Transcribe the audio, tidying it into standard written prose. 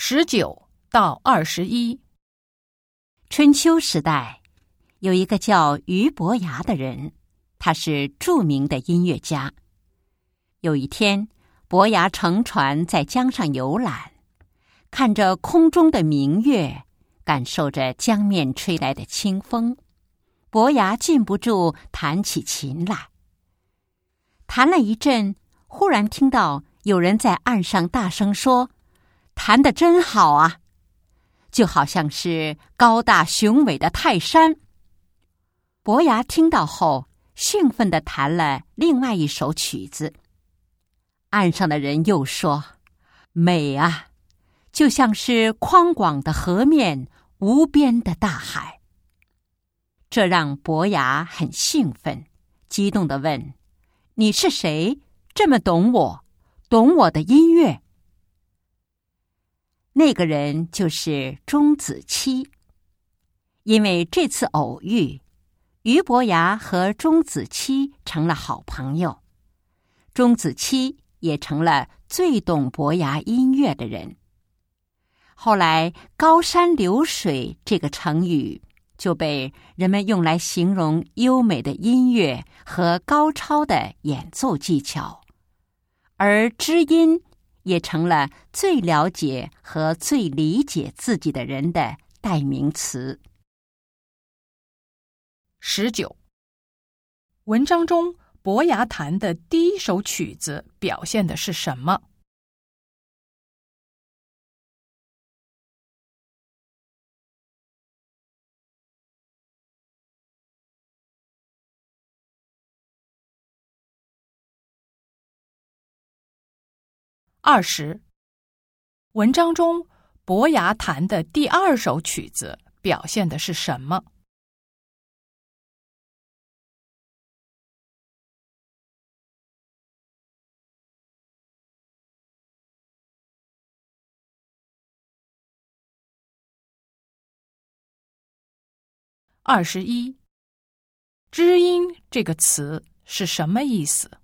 19到21。 春秋时代，有一个叫俞伯牙的人，他是著名的音乐家。有一天，伯牙乘船在江上游览，看着空中的明月，感受着江面吹来的清风，伯牙禁不住弹起琴来。弹了一阵，忽然听到有人在岸上大声说：“弹得真好啊！”就好像是高大雄伟的泰山。伯牙听到后，兴奋地弹了另外一首曲子。岸上的人又说：“美啊，就像是宽广的河面，无边的大海。”这让伯牙很兴奋，激动地问：“你是谁？这么懂我，懂我的音乐？”那个人就是钟子期。因为这次偶遇，俞伯牙和钟子期成了好朋友，钟子期也成了最懂伯牙音乐的人。后来“高山流水”这个成语就被人们用来形容优美的音乐和高超的演奏技巧，而知音也成了最了解和最理解自己的人的代名词。 19。文章中伯牙弹的第一首曲子表现的是什么？20。文章中伯牙弹的第二首曲子表现的是什么？21。知音这个词是什么意思？